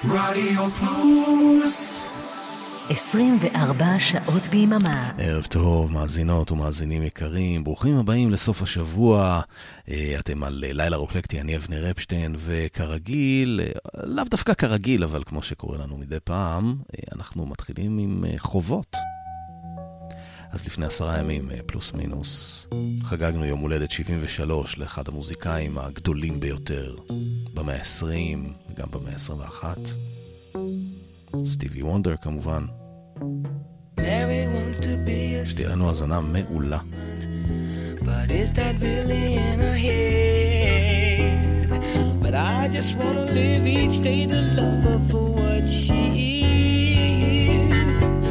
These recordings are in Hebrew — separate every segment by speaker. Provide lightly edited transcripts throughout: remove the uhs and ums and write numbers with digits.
Speaker 1: רדיו פלוס
Speaker 2: 24 שעות ביממה.
Speaker 3: ערב טוב, מאזינות ומאזינים יקרים, ברוכים הבאים לסוף השבוע. אתם על לילה רוקלקטי, אני אבנר אפשטיין, וכרגיל, לאו דווקא כרגיל, אבל כמו שקורה לנו מדי פעם, אנחנו מתחילים עם חובות. אז לפני 10 ימים, פלוס מינוס, חגגנו יום הולדת 73 לאחד המוזיקאים הגדולים ביותר במאה ה-20 וגם במאה ה-21. סטיבי וונדר כמובן. שתהיה לנו הזנה מעולה.
Speaker 4: But is that really in her head? But I just want to live each day to love her for what she is.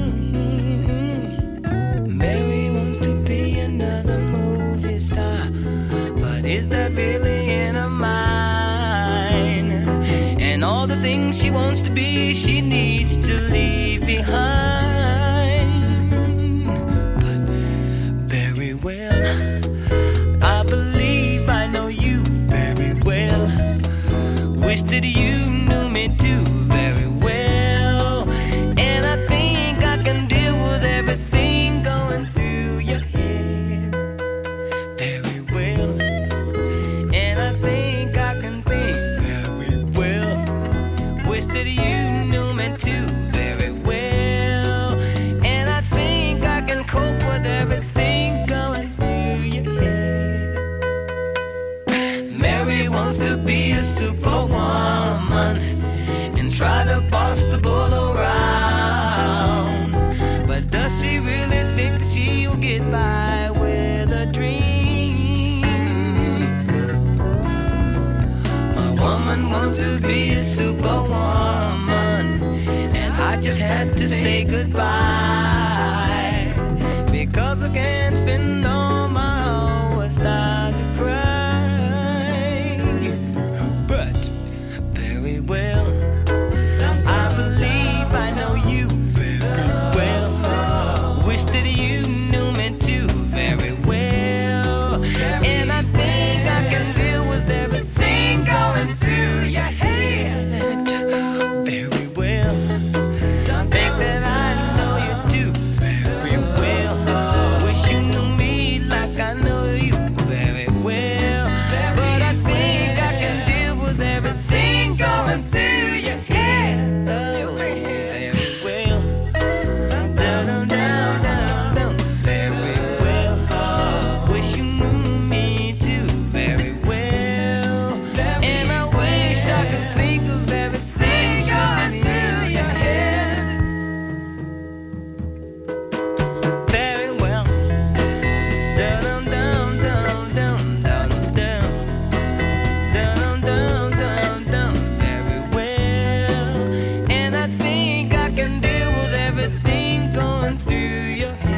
Speaker 4: Mary wants to be another movie star, but is that really in her mind? And all the things she wants to be, she needs to leave behind. But very well, I believe I know you very well. Wish that you knew me too very well. And I think I can deal with everything going through your head very well. And I think I can think very well. Wish that you knew me too very well. And I think I can cope with everything going through your head. Mary wants to be a superwoman and try to boss the bull around. But does she really think that she'll get by with a dream? My woman wants to be a superwoman, and I just had to say goodbye, because I can't spend all my hours starting to cry. But very well, I believe I know you very well. Wish that you knew me too very well. And I think I can deal with everything going through your head very well. Think that I know you do very well. Wish you knew me like I know you very well. But I think I can deal with everything going through your head very well. Down, down, down, down, very well. Wish you knew me too very well. And I wish I could think of everything going through your head very well. Down, down, down, down, down, down, down, down, down, down, very well. And I think I can deal with everything going through your head.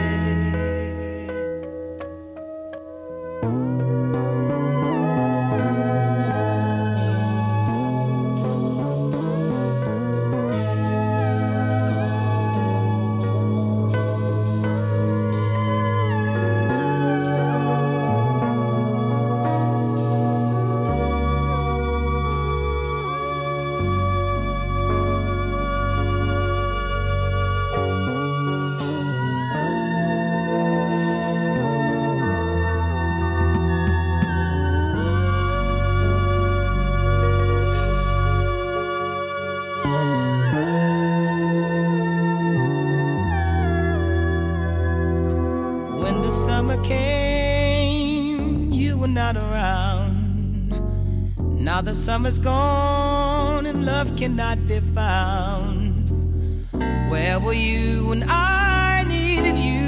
Speaker 4: When the summer came, you were not around. Now the summer's gone and love cannot be found. Where were you when I needed you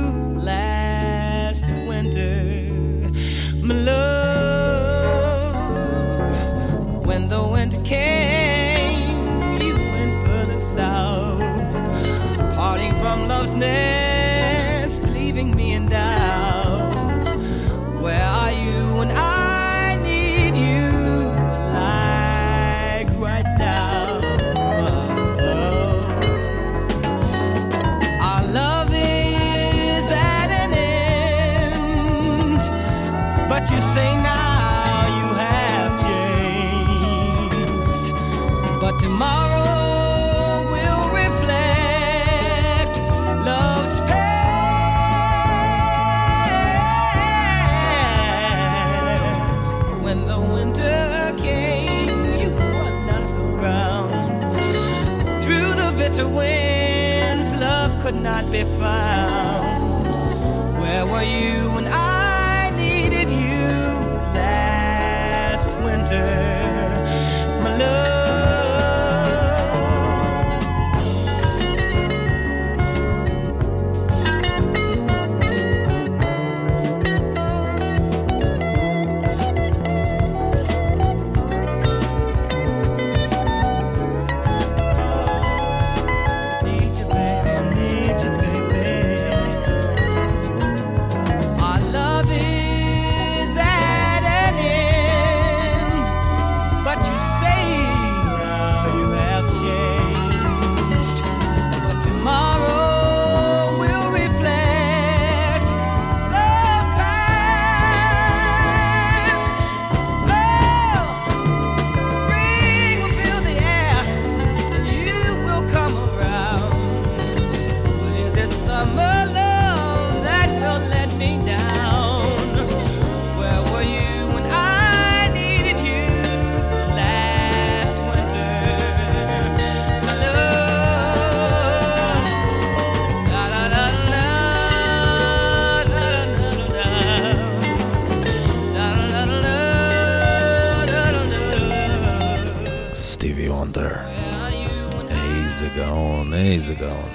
Speaker 4: last winter, my love? When the winter came, you went further south, parting from love's nest, leaving me in doubt. Where are you when I need you like right now? Our love is at an end, but you say now you have changed. but tomorrow will reflect love's past. When the winter came, you were not around. Through the bitter winds, love could not be found. Where were you when I needed you last winter, my love?
Speaker 3: איזה גאון.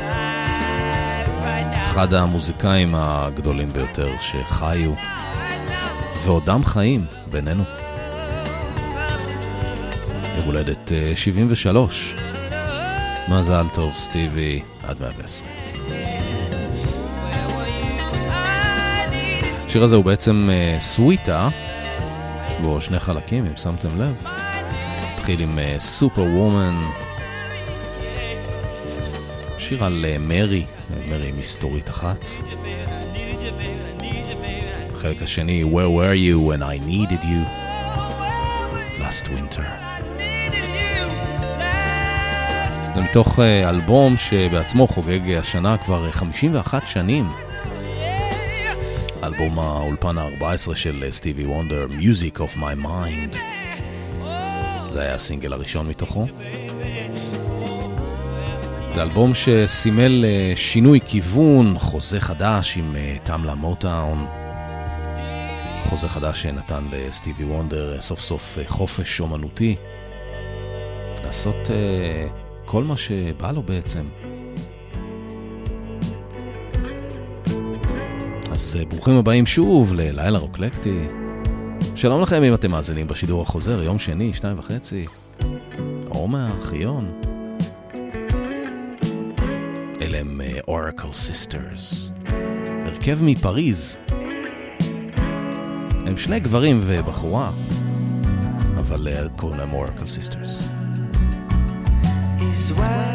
Speaker 3: אחד המוזיקאים הגדולים ביותר שחיו ועודם חיים בינינו. יום הולדת 73. מזל טוב סטיבי, עד 120. השיר הזה הוא בעצם סוויטה, בו שני חלקים אם שמתם לב. התחיל עם סופר וומן, שיר על מרי, מרי מסתורית אחת. החלק השני, Where were you when I needed you last winter. זה מתוך אלבום שבעצמו חוגג השנה כבר 51 שנים. אלבום האולפן ה-14 של סטיבי וונדר, Music of My Mind. זה היה הסינגל הראשון מתוכו. זה אלבום שסימל שינוי כיוון, חוזה חדש עם טמלה מוטאון. חוזה חדש שנתן לסטיבי וונדר סוף סוף חופש אומנותי. לעשות כל מה שבא לו בעצם. אז ברוכים הבאים שוב ללילה רוקלקטי. שלום לכם אם אתם מאזינים בשידור החוזר, יום שני, 2:30. עומר, חיון. אלה הם Oracle Sisters. הרכב מפריז. הם שני גברים ובחורה, אבל קוראים להם Oracle Sisters.
Speaker 5: Is why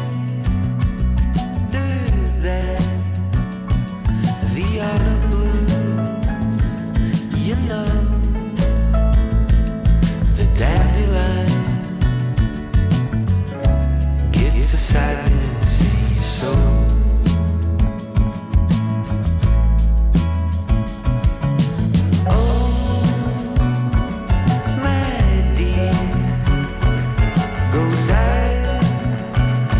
Speaker 5: the autumn blues, you know, the dandelion gets a silence in your soul. Oh, my dear, goes out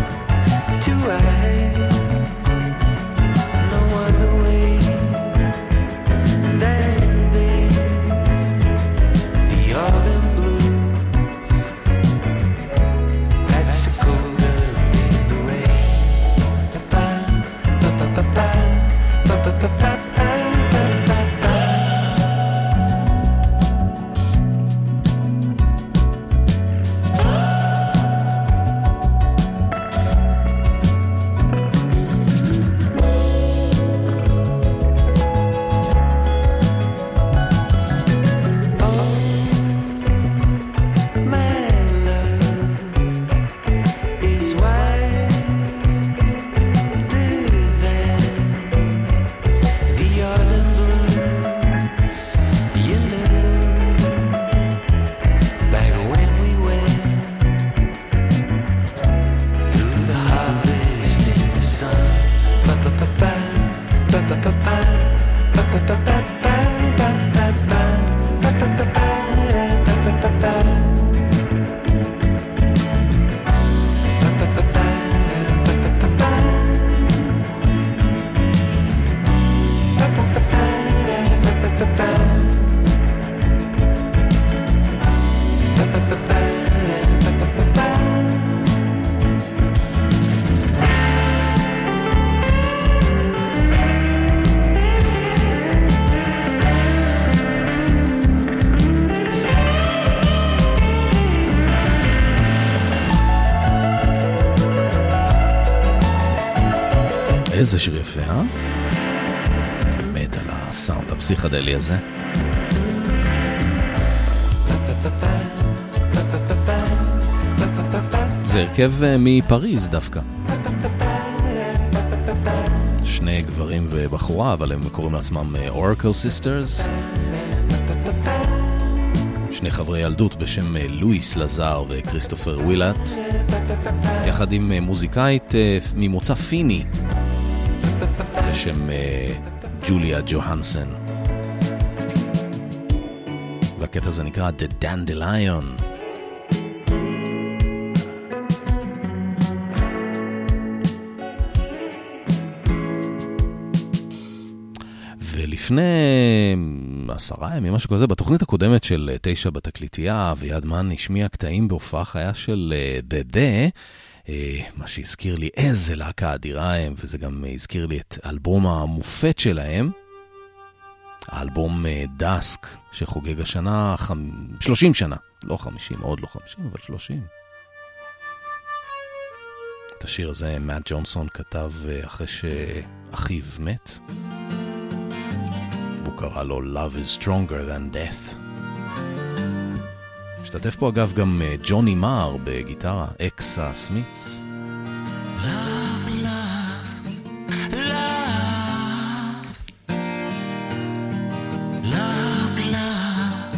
Speaker 3: איזה שיר יפה, מת על הסאונד הפסיכדלי הזה. זה הרכב מפריז דווקא. שני גברים ובחורה, אבל הם קוראים לעצמם Oracle Sisters. שני חברי ילדות בשם לואיס לזר וכריסטופר ווילאט, יחד עם מוזיקאית ממוצא פיני בשם ג'וליה ג'והנסן. והקטע הזה נקרא The Dandelion. ולפני 10 ימים, משהו כזה, בתוכנית הקודמת של 9 בתקליטייה, אביעד מן השמיע קטעים בהופעה חיה של דדה, מה שהזכיר לי איזה להקה אדירה הם, וזה גם הזכיר לי את האלבום המופת שלהם, האלבום דסק, שחוגג השנה 30 שנה, לא 50, עוד לא 50, אבל 30. את השיר הזה מאט ג'ונסון כתב אחרי שאחיו מת. הוא קרא לו Love is stronger than death. השתתף פה אגב גם ג'וני מאר בגיטרה, אקס הסמיץ.
Speaker 4: Love, love, love. Love, love,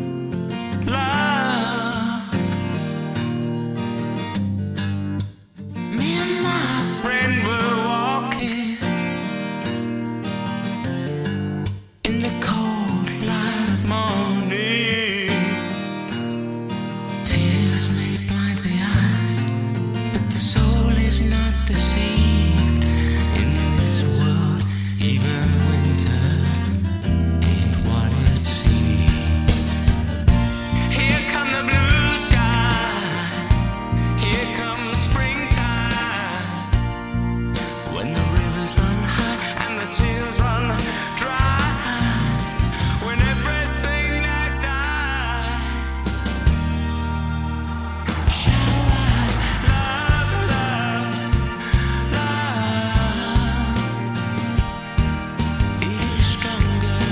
Speaker 4: love. Me and my friend were walking in the cold light morning. Tears may blind the eyes, but the soul is not deceived. In this world, even winter ain't what it seems. Here come the blue skies, here comes springtime, when the rivers run high and the tears run dry, when everything that dies shall rise. Love, love, love is stronger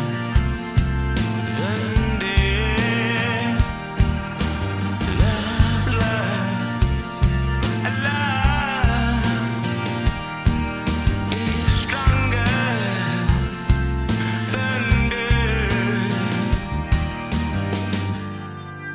Speaker 4: than death. Love, love, love is stronger than death.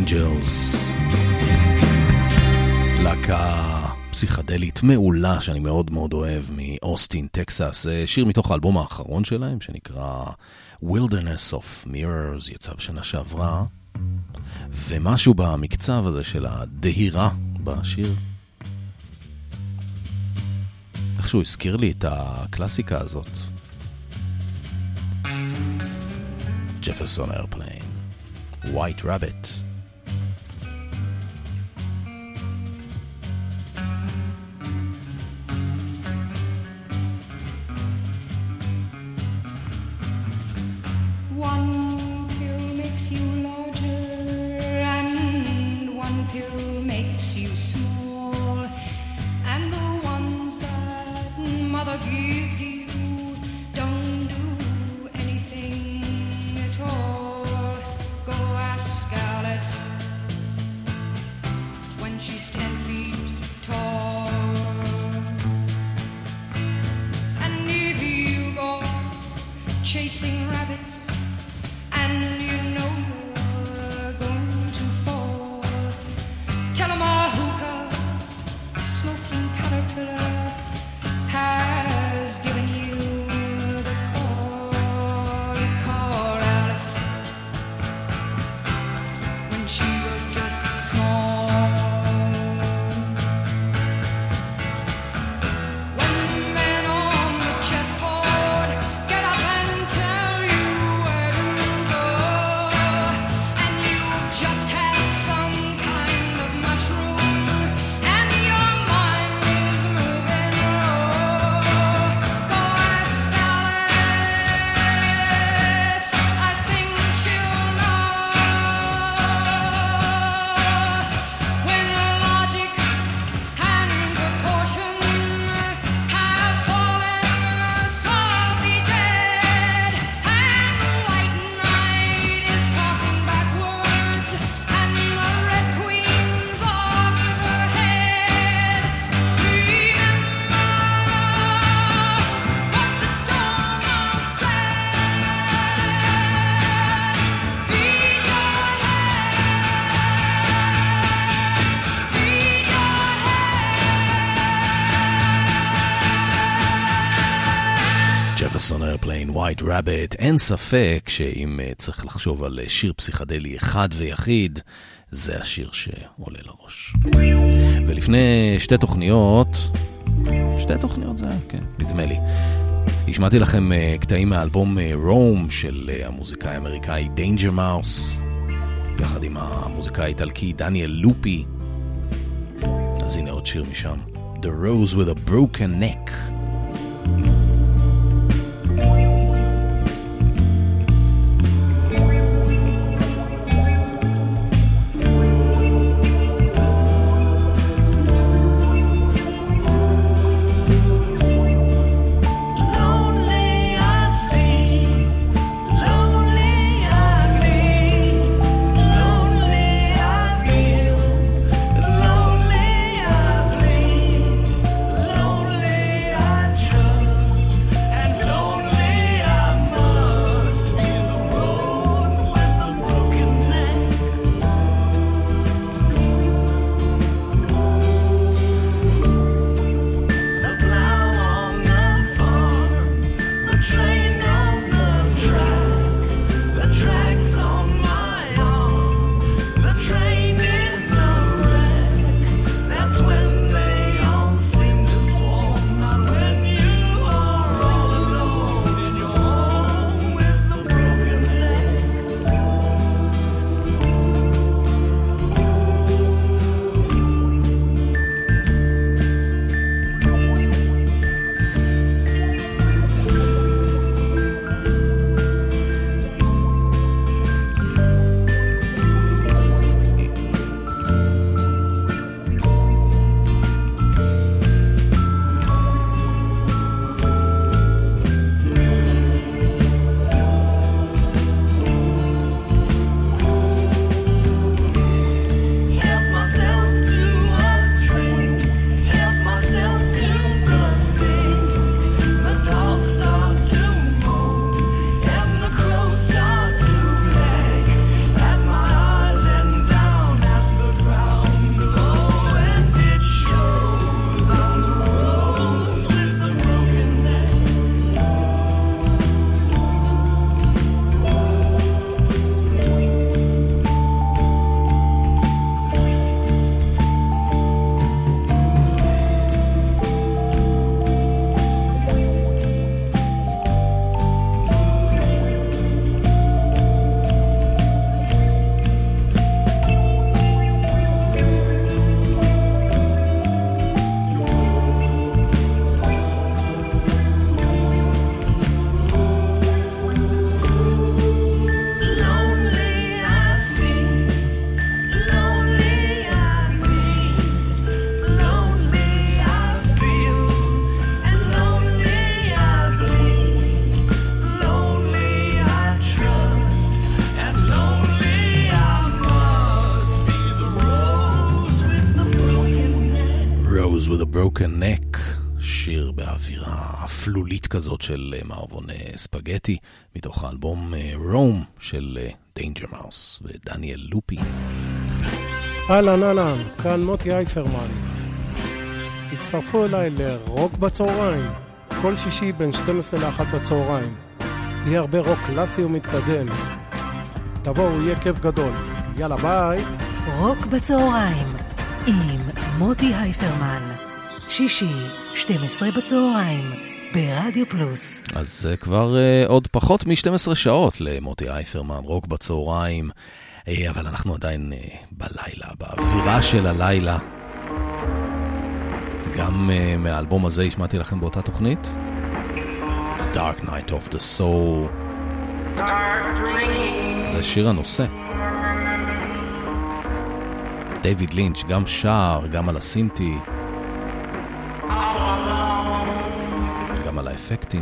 Speaker 3: Angels. להקה פסיכדלית מעולה שאני מאוד מאוד אוהב מאוסטין, טקסס. שיר מתוך האלבום האחרון שלהם שנקרא Wilderness of Mirrors, יצא בשנה שעברה. ומשהו במקצב הזה של הדהירה בשיר, איכשהו הזכיר לי את הקלאסיקה הזאת. Jefferson Airplane, White Rabbit. Jefferson Airplane, White Rabbit. אין ספק שאם צריך לחשוב על שיר פסיכדלי אחד ויחיד, זה השיר שעולה לראש. ולפני שתי תוכניות זה היה, כן, נדמה לי. השמעתי לכם קטעים מהאלבום רום של המוזיקאי האמריקאי Danger Mouse, יחד עם המוזיקאי האיטלקי דניאל לופי. אז הנה עוד שיר משם, The Rose with a Broken Neck.
Speaker 6: Lonely
Speaker 3: Broken Neck, שיר באווירה אפלולית כזאת של מערבון ספגטי, מתוך האלבום רום של דיינג'ר מאוס ודניאל לופי.
Speaker 6: אהלן, כאן מוטי אייפרמן. הצטרפו אליי לרוק בצהריים, כל שישי בין 12 ל-1 בצהריים. יהיה הרבה רוק קלאסי ומתקדם. תבואו, יהיה כיף גדול. יאללה, ביי.
Speaker 2: רוק בצהריים עם מוטי הייפרמן, שישי 12 בצהריים ברדיו פלוס.
Speaker 3: אז כבר עוד פחות מ-12 שעות למוטי הייפרמן, רוק בצהריים, אבל אנחנו עדיין בלילה, באווירה של הלילה. גם מהאלבום הזה השמעתי לכם באותה תוכנית, Dark Night of the Soul. זה שיר הנושא. דיוויד לינץ' גם שר, גם על הסינטי, גם על האפקטים.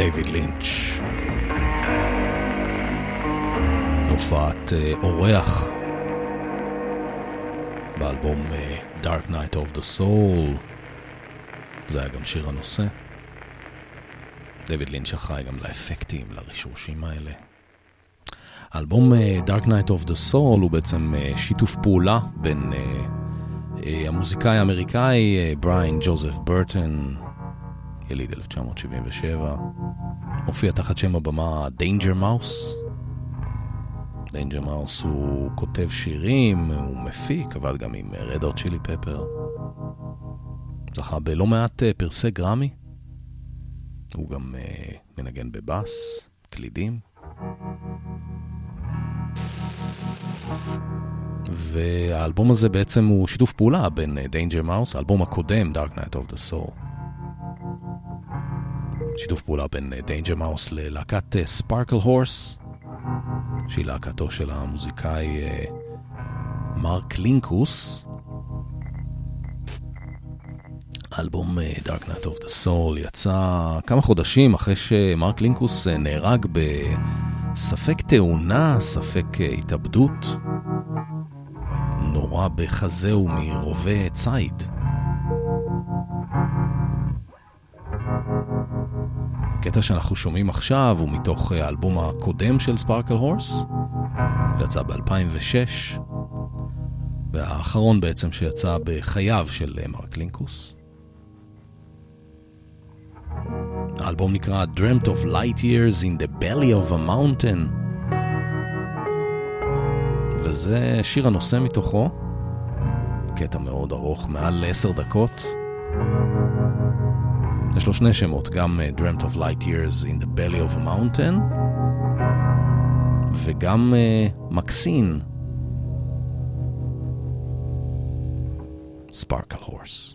Speaker 3: דיוויד לינץ'. הופעת אורח באלבום Dark Night of the Soul. זה היה גם שיר הנושא. דיוויד לינץ' אחראי גם לאפקטים, לרישושים האלה. האלבום Dark Night of the Soul הוא בעצם שיתוף פעולה בין המוזיקאי האמריקאי בריין ג'וזף ברטון, יליד 1977, הופיע תחת שם הבמה Danger Mouse. Danger Mouse הוא כותב שירים, הוא מפיק, עבד גם עם Red Hot Chili Pepper. זכה בלא מעט פרסי גרמי. הוא גם מנגן בבאס, קלידים. והאלבום הזה בעצם הוא שיתוף פעולה בין Danger Mouse, האלבום הקודם Dark Night of the Soul. שיתוף פעולה בין Danger Mouse ללהקת Sparkle Horse, שהיא להקתו של המוזיקאי מרק לינקוס. האלבום Dark Night of the Soul יצא כמה חודשים אחרי שמרק לינקוס נהרג בספק תאונה, ספק התאבדות. נורא בחזהו מרובה ציד. הקטע שאנחנו שומעים עכשיו הוא מתוך האלבום הקודם של ספארקל הורס, שיצא ב-2006, והאחרון בעצם שיצא בחייו של מרק לינקוס. האלבום נקרא Dreamt of Light Years in the Belly of a Mountain, וזה שיר הנושא מתוכו, קטע מאוד ארוך, מעל 10 דקות. יש לו שני שמות, גם Dreamt of Light Years in the Belly of a Mountain, וגם מקסין, Sparkle Horse.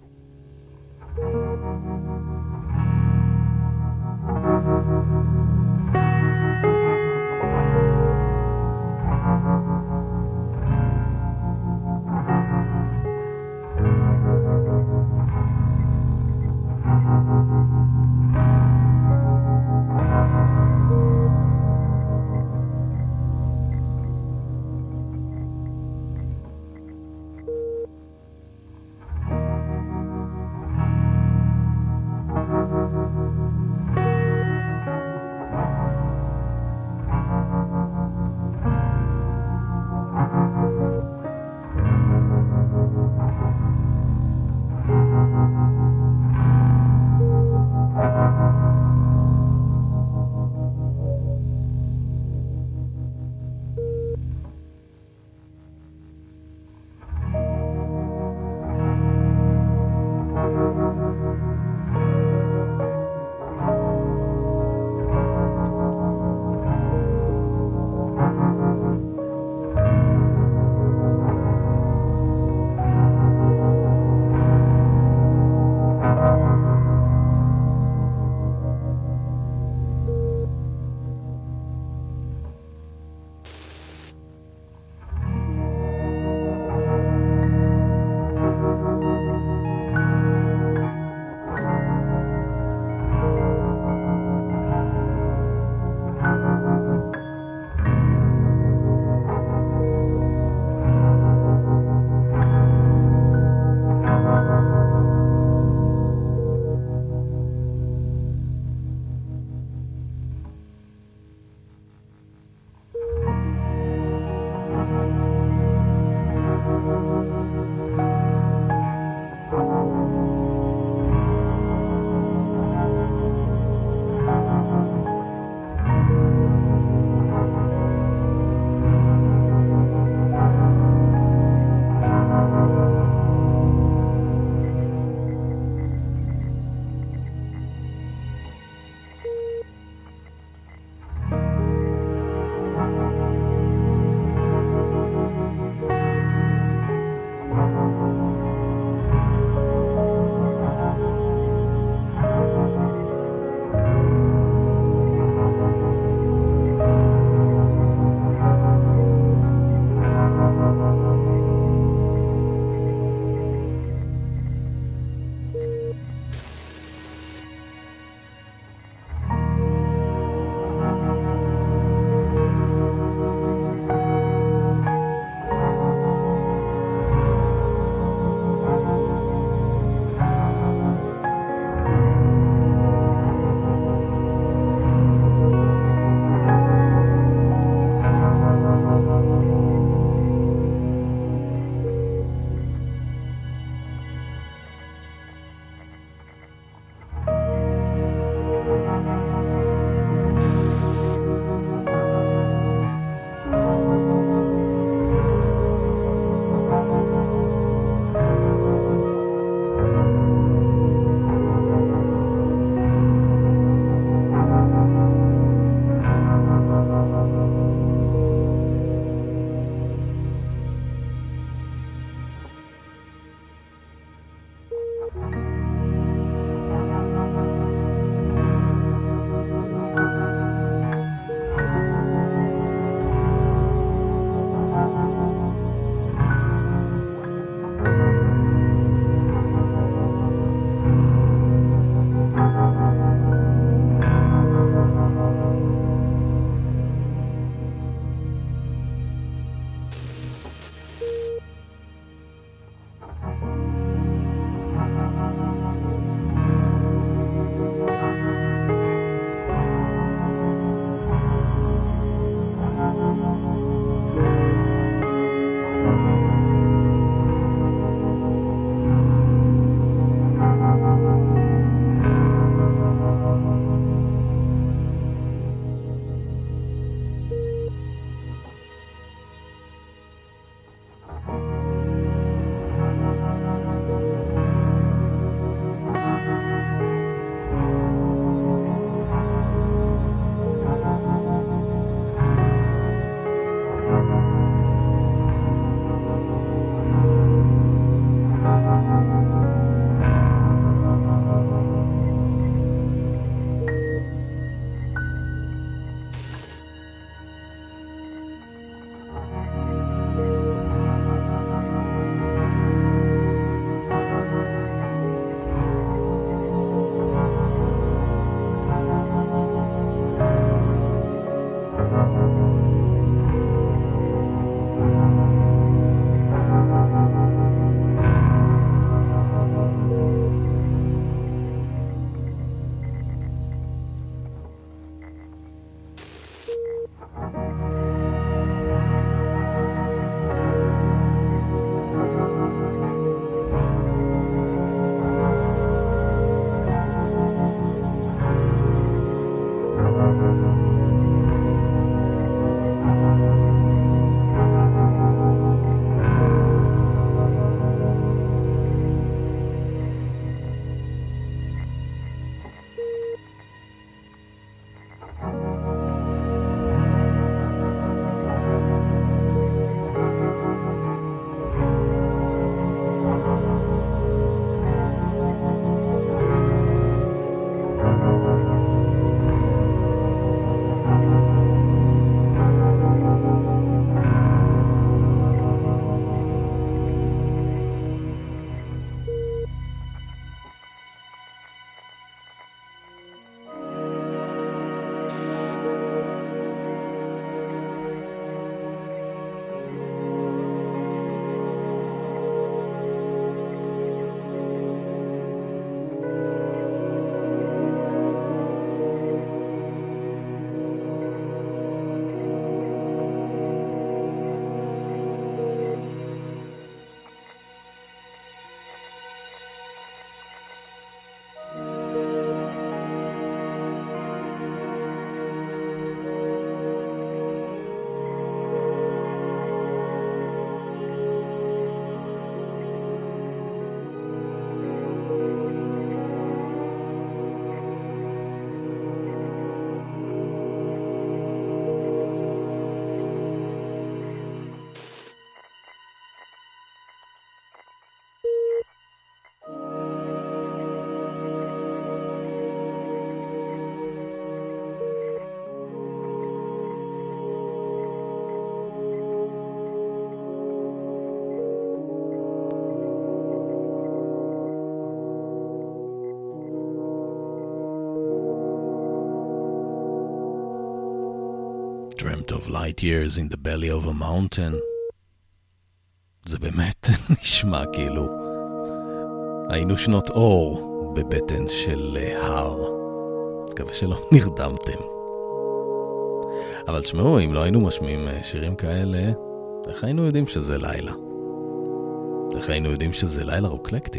Speaker 3: dreamt of light years in the belly of a mountain. זה באמת נשמע כאילו היינו שנות אור בבטן של הר. מקווה שלא נרדמתם. אבל תשמעו, אם לא היינו משמיעים שירים כאלה, איך היינו יודעים שזה לילה? איך היינו יודעים שזה לילה רוקלקטי?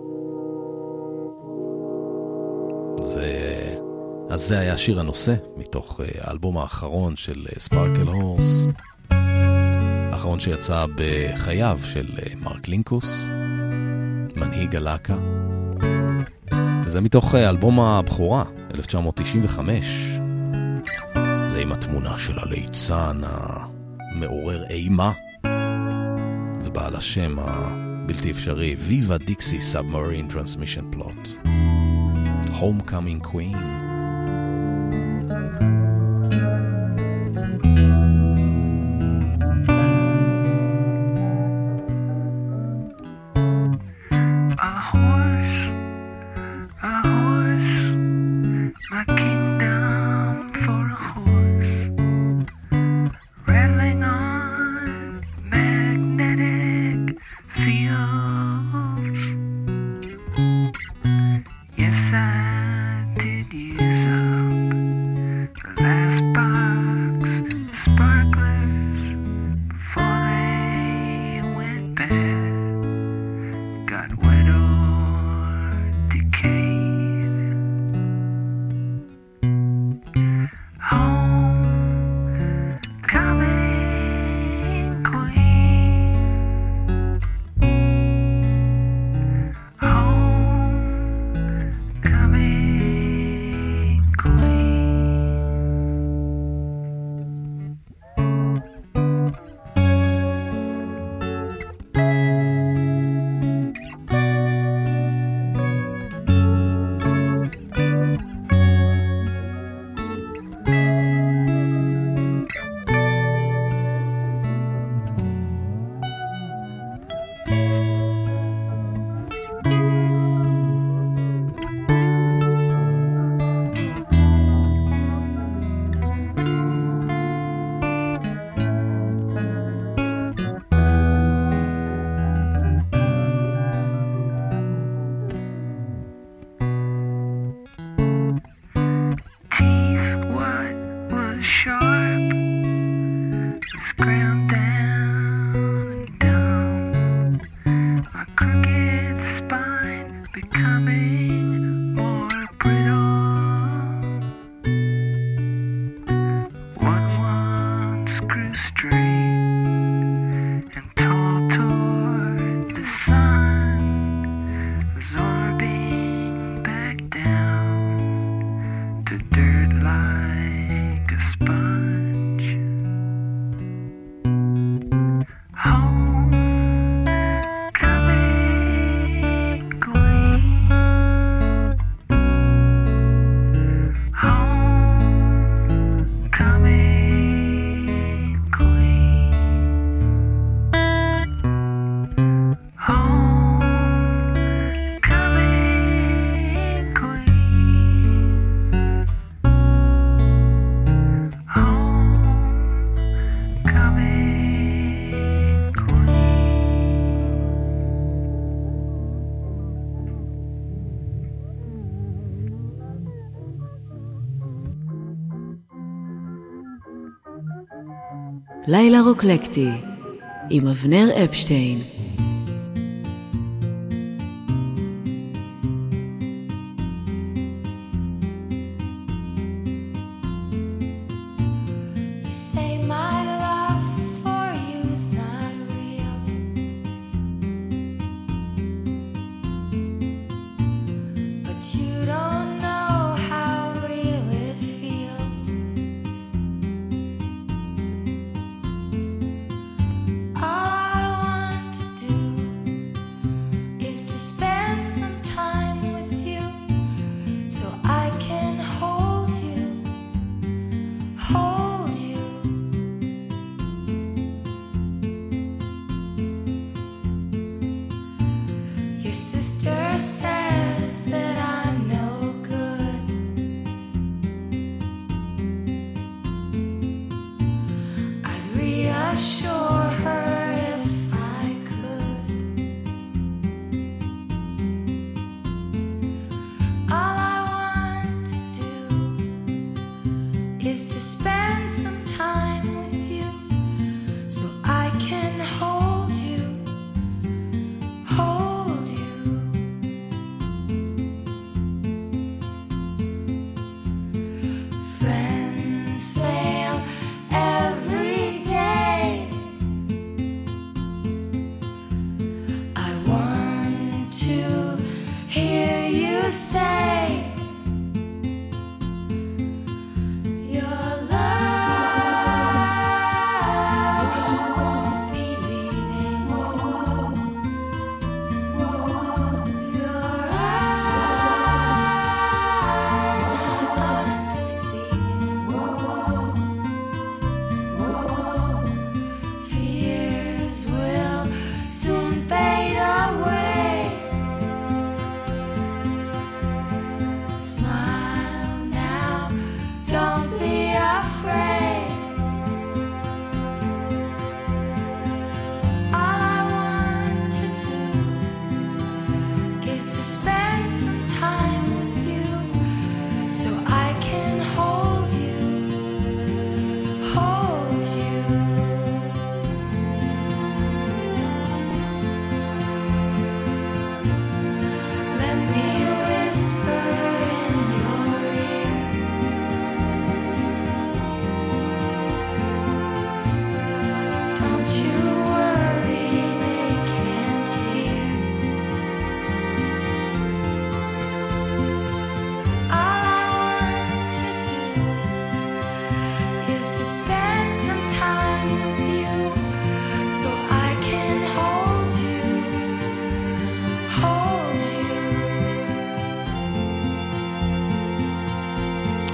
Speaker 3: אז זה היה שיר הנושא מתוך האלבום האחרון של ספרקל הורס, האחרון שיצא בחייו של מרק לינקוס, מנהיג הלהקה. וזה מתוך אלבום הבכורה, 1995. זה עם התמונה של הליצן המעורר אימה, ובעל השם הבלתי אפשרי, Viva Dixie Submarine Transmission Plot. Homecoming Queen.
Speaker 2: לילה רוקלקטי עם אבנר אפשטיין.
Speaker 7: All I want to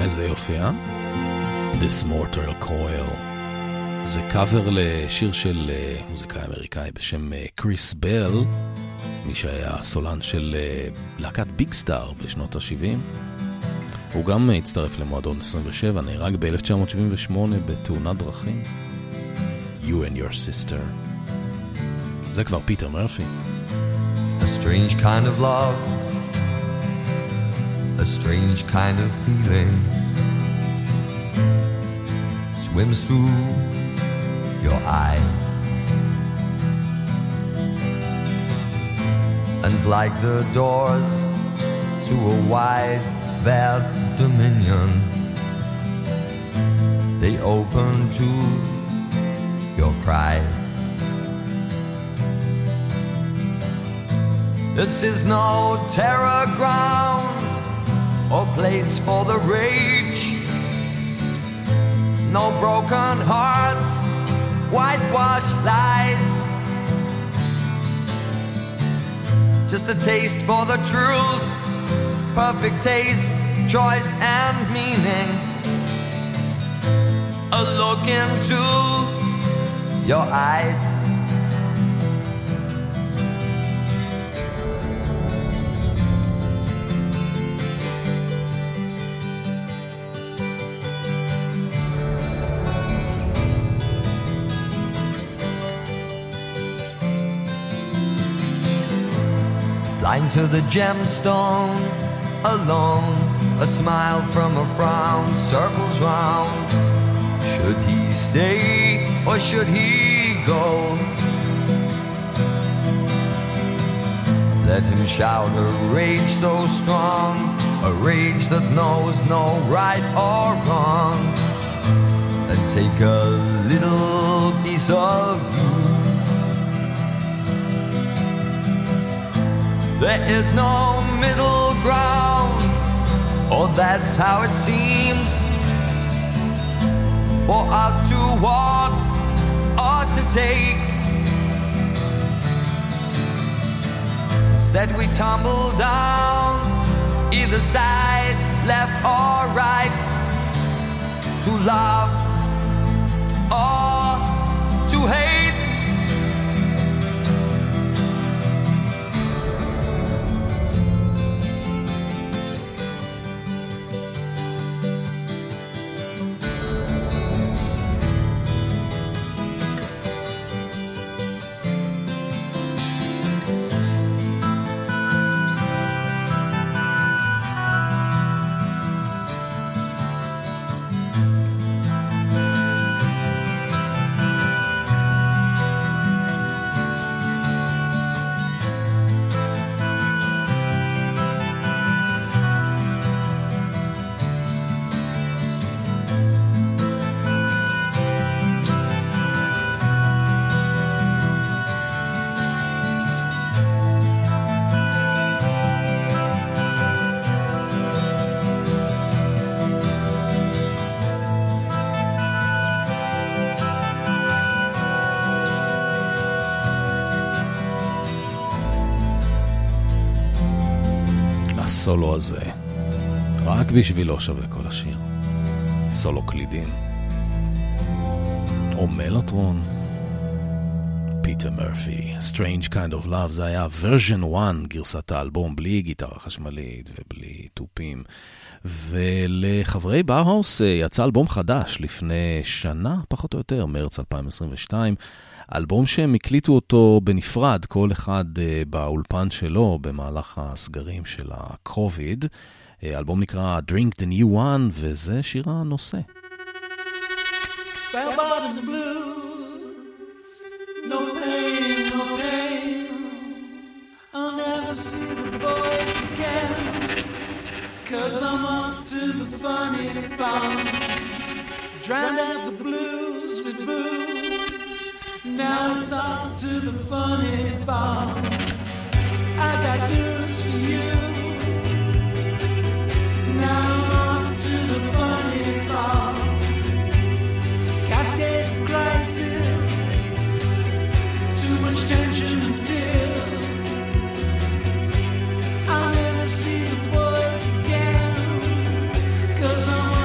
Speaker 3: איזה יופי, This Mortal Coil. זה קאבר לשיר של מוזיקאי אמריקאי בשם קריס בל, מי שהיה סולן של להקת ביג סטאר בשנות ה-70. הוא גם הצטרף למועדון 27, נהרג ב-1978 בתאונת דרכים. You and Your Sister. זה כבר פיטר מרפי.
Speaker 5: A strange kind of love, a strange kind of feeling swims through your eyes, and like the doors to a wide, vast dominion, they open to your cries. This is no terror ground or place for the rage, no broken hearts, whitewashed lies, just a taste for the truth, perfect taste, choice and meaning, a look into your eyes. Blind to the gemstone, alone, a smile from a frown circles round. Should he stay or should he go? Let him shout a rage so strong, a rage that knows no right or wrong, and take a little piece of you. There is no middle ground, or that's how it seems, for us to walk or to take. Instead we tumble down, either side, left or right, to love or to hate.
Speaker 3: הסולו הזה, רק בשבילו שווה כל השיר. סולו קלידים. או מלוטרון. פיטר מרפי, Strange Kind of Love, זה היה version 1, גרסת האלבום, בלי גיטרה חשמלית ובלי טופים. ולחברי באוהאוס יצא אלבום חדש לפני שנה, פחות או יותר, מרץ 2022. אלבום שהם הקליטו אותו בנפרד, כל אחד באולפן שלו במהלך הסגרים של הקוביד. אלבום נקרא Drink the New One, וזה שיר הנושא.
Speaker 1: Bell bottom blues, no pain, no pain. I'll never see the boys again, 'cause I'm off to the funny farm. Drowned out the blues with booze. Now it's off to the funny farm. I got news for you. Now I'm off to the funny farm. Cascade of crisis, too much tension and tears. I'll never see the boys again, 'cause I'm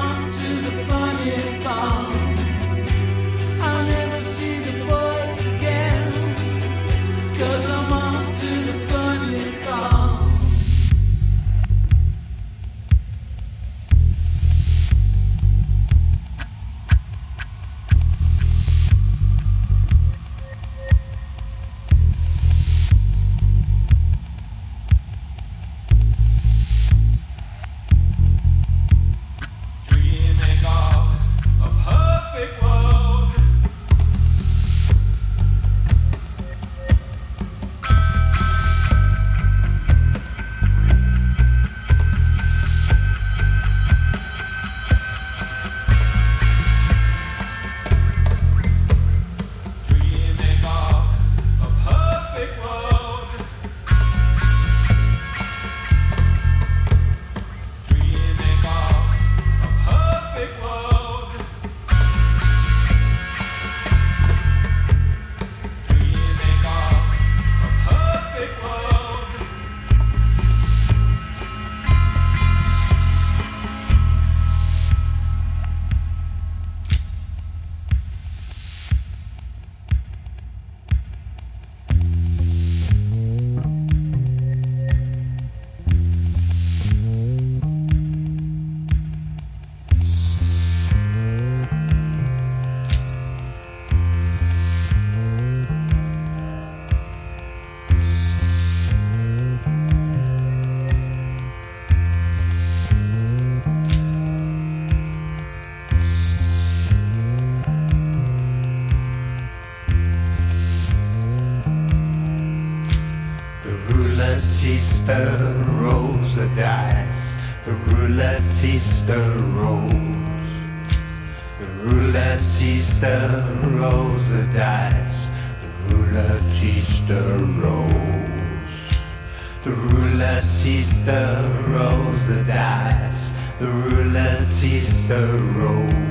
Speaker 1: rouletteista rolls the dice. The rouletteista rolls. The rouletteista rolls the dice. The rouletteista rolls. The rouletteista rolls the dice. The rouletteista rolls.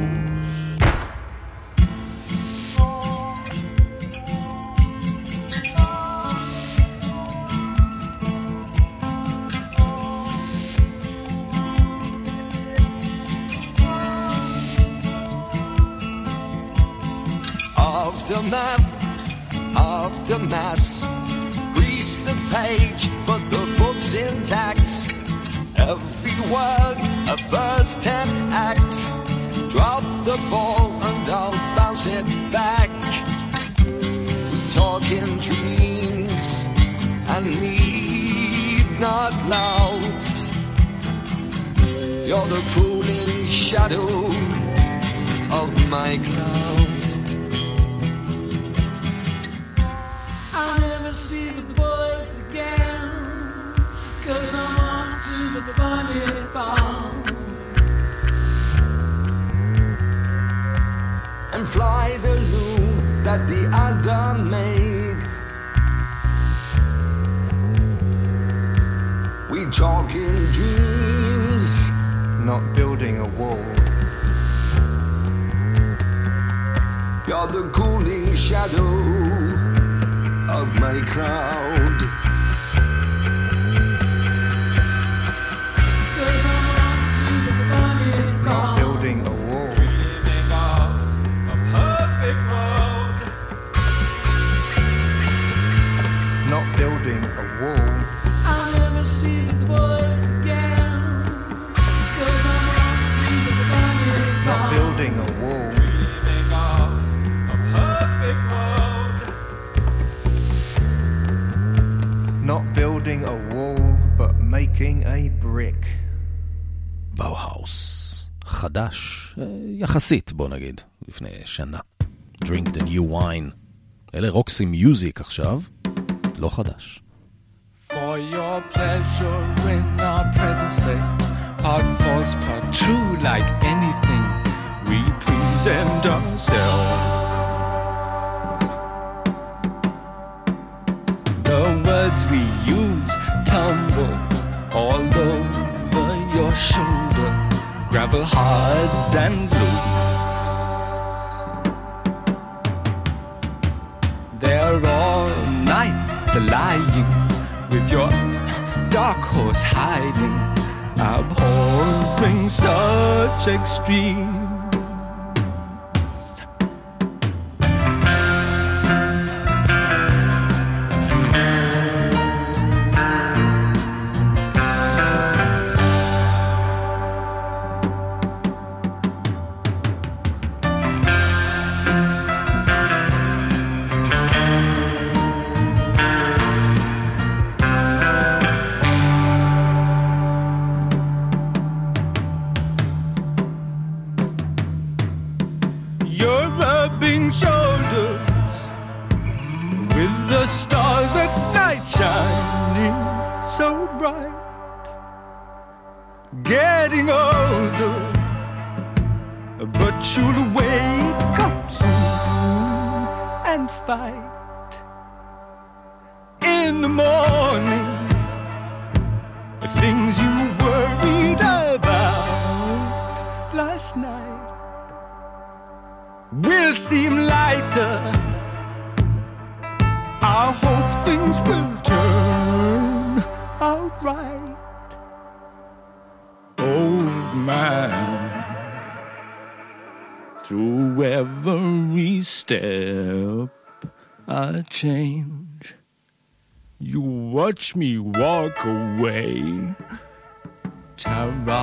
Speaker 5: After mass, grease the page, but the book's intact. Every word a first tenth act. Drop the ball and I'll bounce it back. We talk in dreams and need not loud. You're the cooling shadow of my cloud.
Speaker 1: I'll never see the boys again, 'cause I'm off to the funny farm.
Speaker 5: And fly the loom that the other made. We talk in dreams,
Speaker 1: Not building a wall.
Speaker 5: you're the cooling shadow of my cloud.
Speaker 1: 'Cause I'm off to the funny farm.
Speaker 7: Not building a wall.
Speaker 1: Dreaming of a perfect road.
Speaker 7: Not building a wall.
Speaker 1: I'll never see the boys again, 'cause I'm off to the funny farm.
Speaker 7: Not building a wall.
Speaker 1: Dreaming of a perfect road.
Speaker 7: Not building a wall, but making a brick.
Speaker 3: באוהאוס. חדש, יחסית, בוא נגיד, לפני שנה. Drink the new wine. אלה רוקסי מיוזיק עכשיו, לא חדש.
Speaker 8: For your pleasure in our present state, our thoughts part true like anything. We present ourselves. The words we use tumble all over your shoulder, gravel hard and loose. They're all night lying with your dark horse hiding, abhorring such extreme. You're rubbing shoulders with the stars at night shining so bright. Getting older, but you'll wake up soon and fight. In the morning, things you worried about last night will seem lighter. I hope things will turn out right. Old man, through every step I change. You watch me walk away, Tara.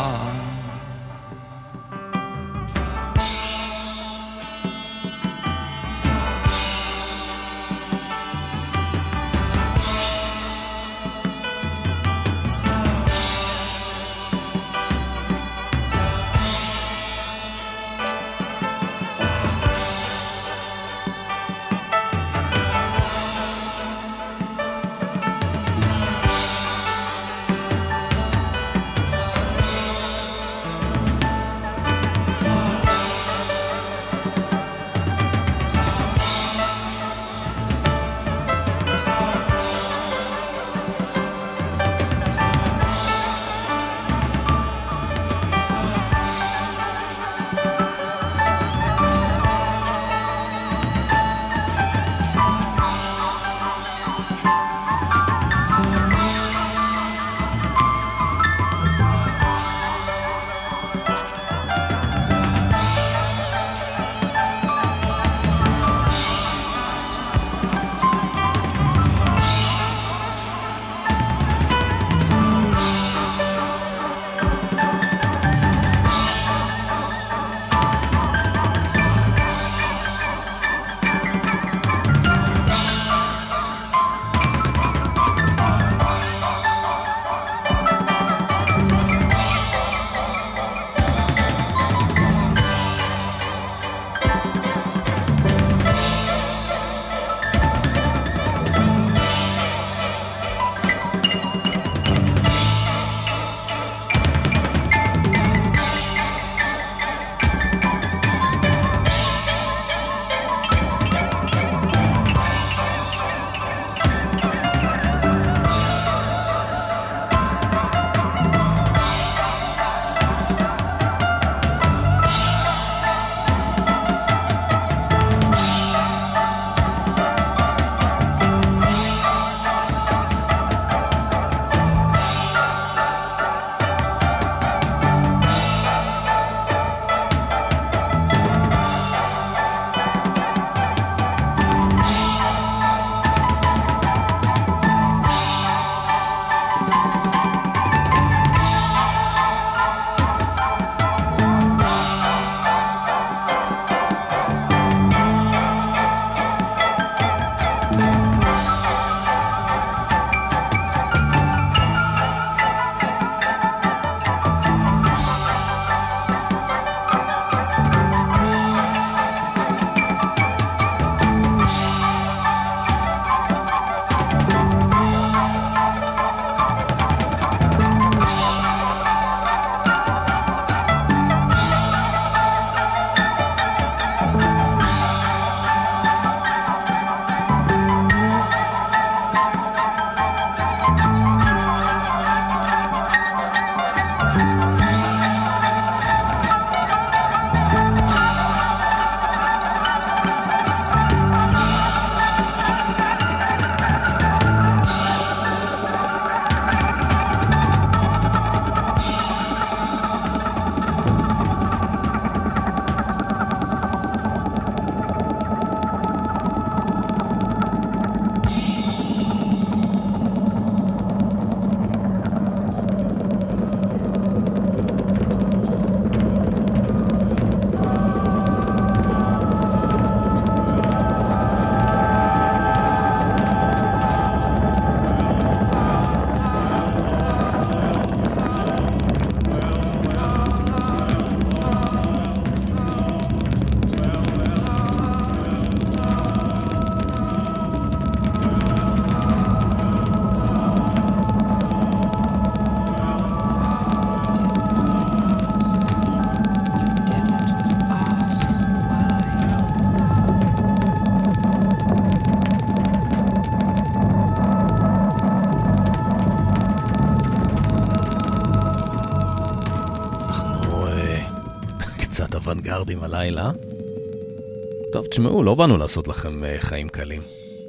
Speaker 3: קצת אוונגרדים הלילה. טוב, תשמעו, לא באנו לעשות לכם חיים קלים.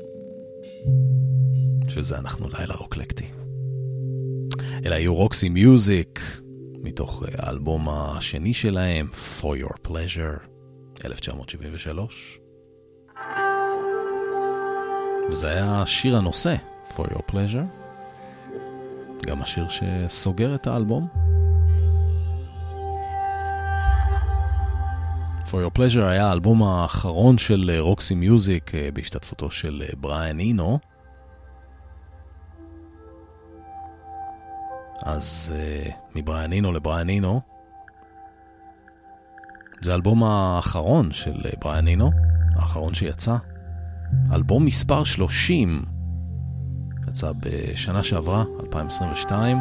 Speaker 3: שזה אנחנו לילה רוקלקטי. אלא יהיו רוקסי מיוזיק, מתוך האלבום השני שלהם, For Your Pleasure, 1973. וזה היה שיר הנושא, For Your Pleasure. גם השיר שסוגר את האלבום. For Your Pleasure היה האלבום האחרון של רוקסי מיוזיק בהשתתפותו של בריאן אינו. אז מבריאן אינו לבריאן אינו. זה האלבום האחרון של בריאן אינו, האחרון שיצא. אלבום מספר 30. יצא בשנה שעברה, 2022.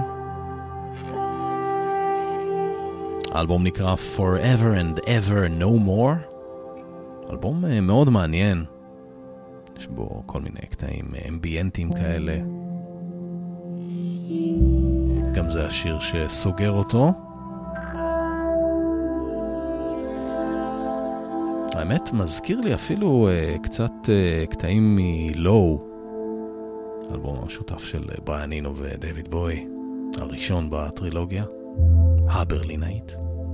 Speaker 3: האלבום נקרא Forever and Ever No More. אלבום מאוד מעניין. יש בו כל מיני קטעים אמביאנטיים כאלה. גם זה השיר שסוגר אותו. האמת מזכיר לי אפילו קצת קטעים מלואו, אלבום המשותף של בריאן אינו ודייוויד בוי, הראשון בטרילוגיה הברלינאית.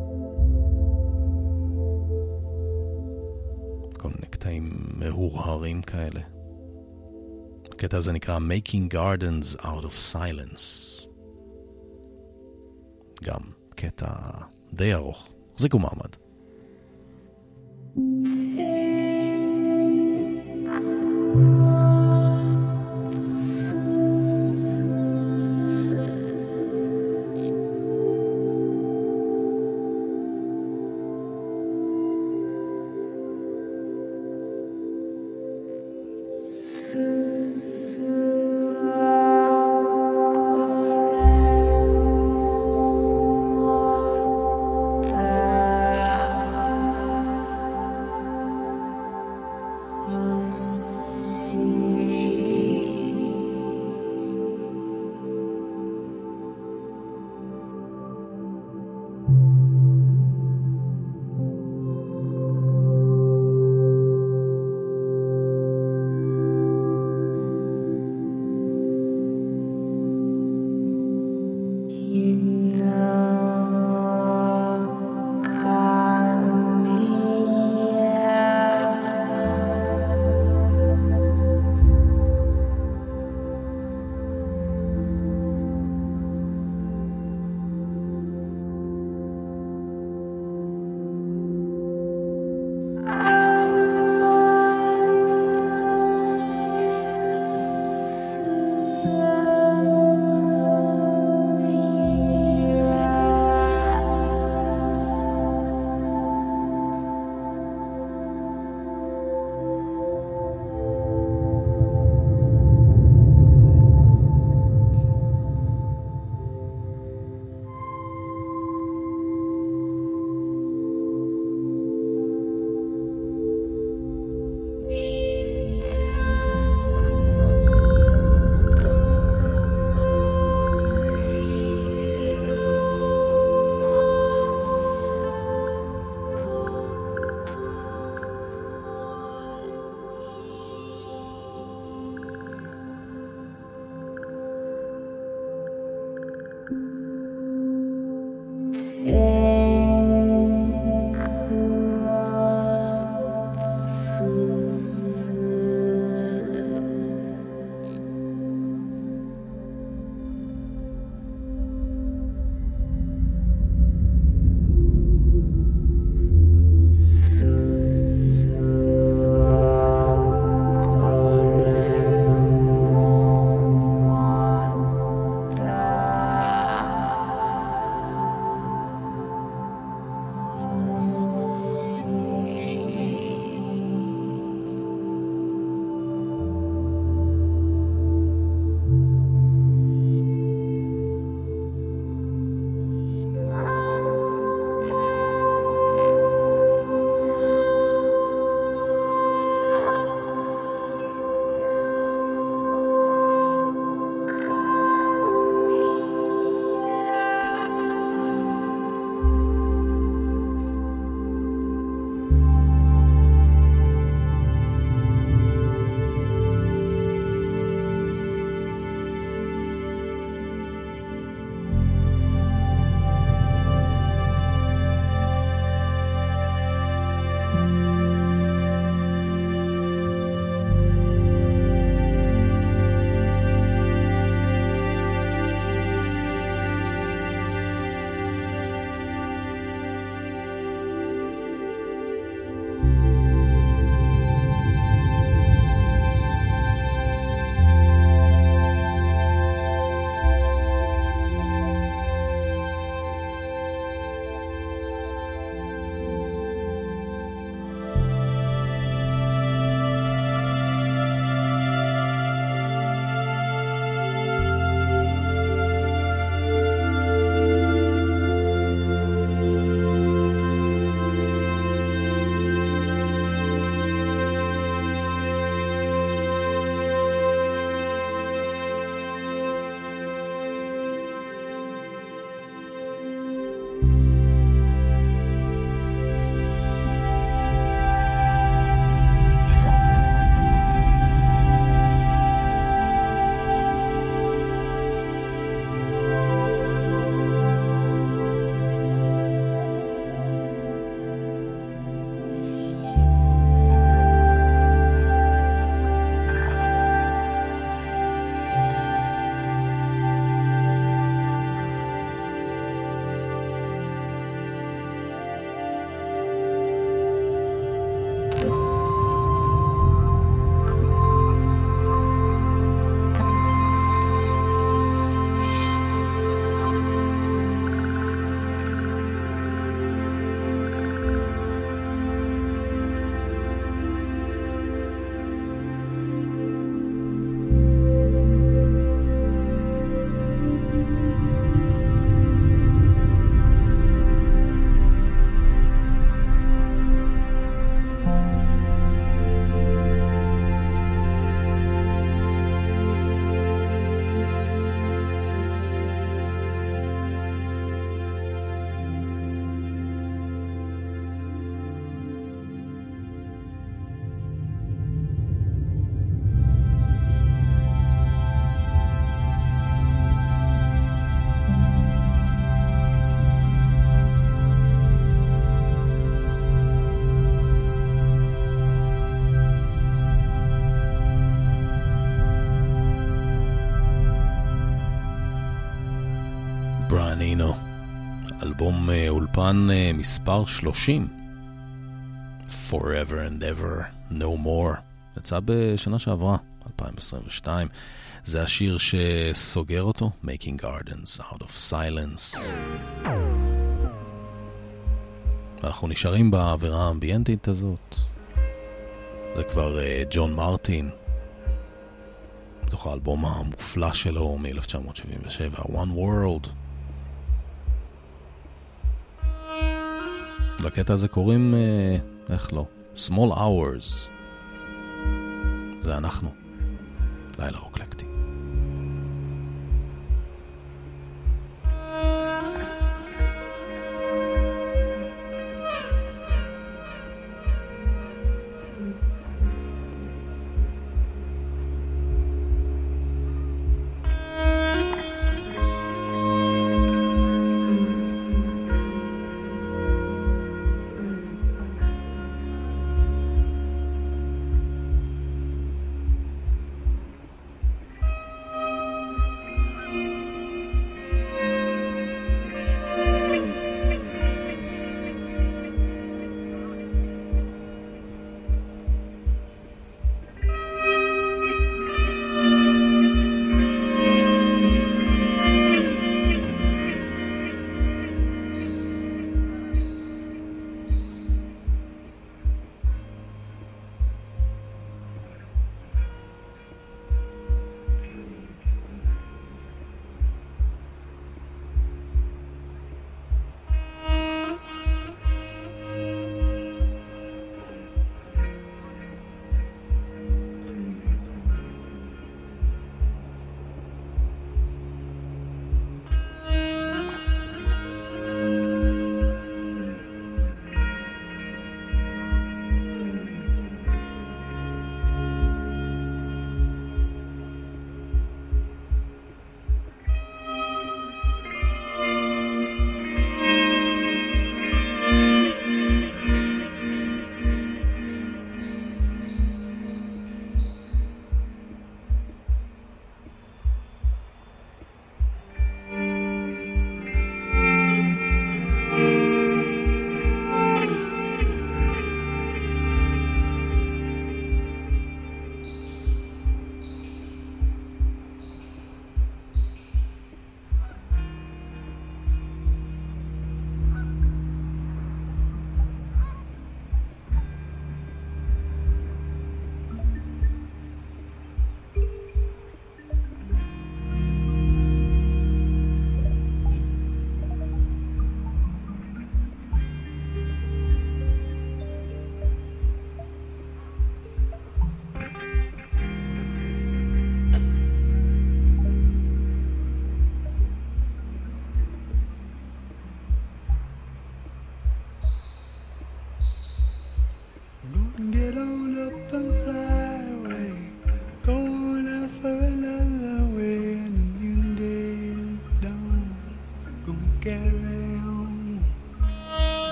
Speaker 3: כל מיני קטעים מהורהרים כאלה. הקטע הזה נקרא Making Gardens Out of Silence. גם קטע די ארוך. חזיקו מעמד. אלבום אולפן מספר 30, Forever and Ever, No More, יצא בשנה שעברה, 2022. זה השיר שסוגר אותו, Making Gardens Out of Silence. אנחנו נשארים באווירה האמביינטית הזאת. זה כבר ג'ון מרטין, בתוך האלבום המופלא שלו מ-1977, One World. לקטע הזה קוראים, איך לא? Small Hours. זה אנחנו. לילה רוקלקטי.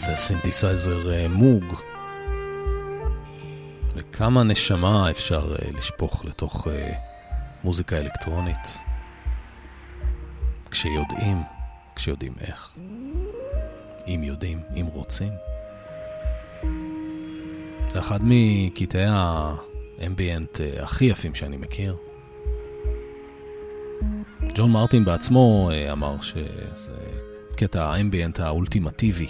Speaker 3: זה סינתסייזר מוג. וכמה נשמה אפשר לשפוך לתוך מוזיקה אלקטרונית. כשיודעים איך. אם יודעים, אם רוצים. זה אחד מקטעי האמביאנט הכי יפים שאני מכיר. ג'ון מרטין בעצמו אמר שזה קטע האמביאנט האולטימטיבי.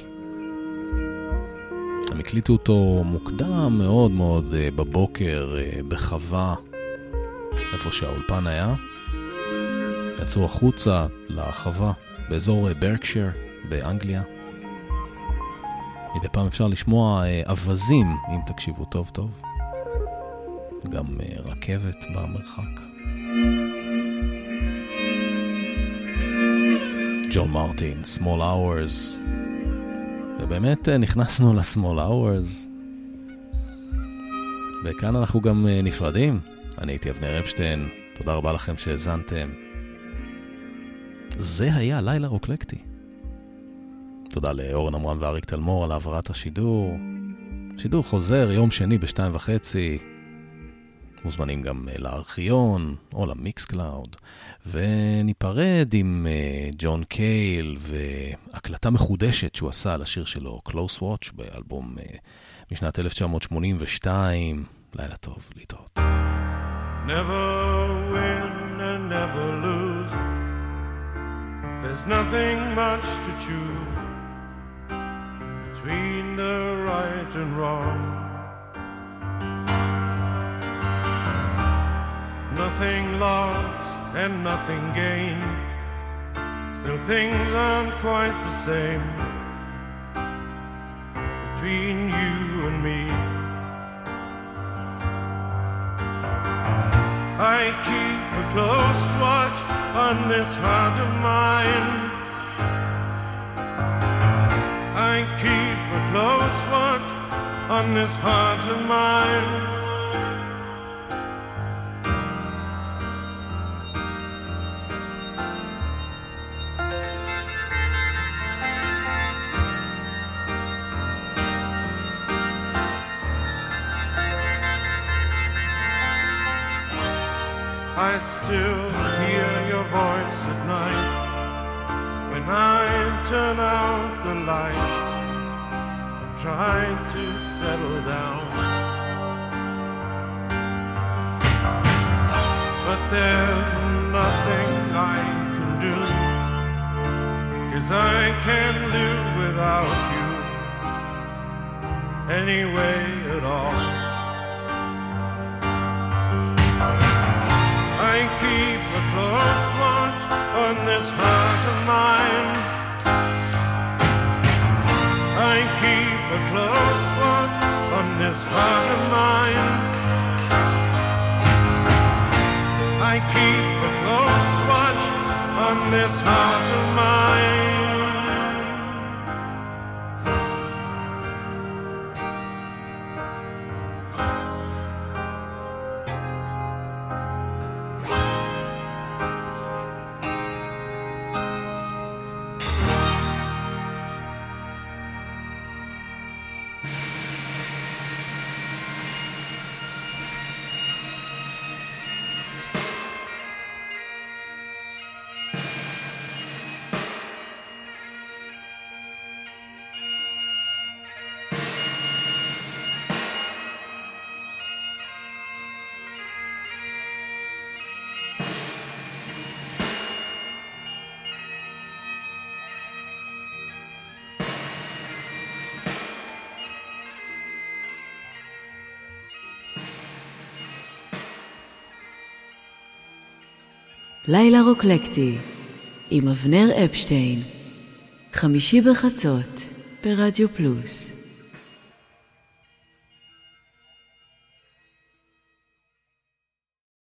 Speaker 3: הם הקליטו אותו מוקדם מאוד מאוד בבוקר בחווה, איפה שהאולפן היה. יצאו החוצה לחווה באזור ברקשייר באנגליה. מדי פעם אפשר לשמוע אבזים, אם תקשיבו טוב טוב. גם רכבת במרחק. ג'ון מרטין, Small Hours. ובאמת נכנסנו ל-Small Hours. וכאן אנחנו גם נפרדים. אני הייתי אבנר אפשטיין. תודה רבה לכם שהזנתם. זה היה לילה רוקלקטי. תודה לאורן אמרן ואריק תלמור על העברת השידור. שידור חוזר יום שני ב-2:30. מוזמנים גם לארכיון או למיקס קלאוד. וניפרד עם ג'ון קייל והקלטה מחודשת שהוא עשה על השיר שלו Close Watch באלבום משנת 1982. לילה טוב, להתראות.
Speaker 9: Never win and never lose. There's nothing much to choose between the right and wrong. Nothing lost and nothing gained. Still things aren't quite the same between you and me. I keep a close watch on this heart of mine. I keep a close watch on this heart of mine. I still hear your voice at night when I turn out the light and try to settle down. But there's nothing I can do, 'cause I can't live without you anyway at all. I keep a close watch on this heart of mine. I keep a close watch on this heart of mine. I keep a close watch on this heart of mine.
Speaker 2: לילה רוקלקטי עם אבנר אפשטיין, חמישי בחצות ברדיו פלוס.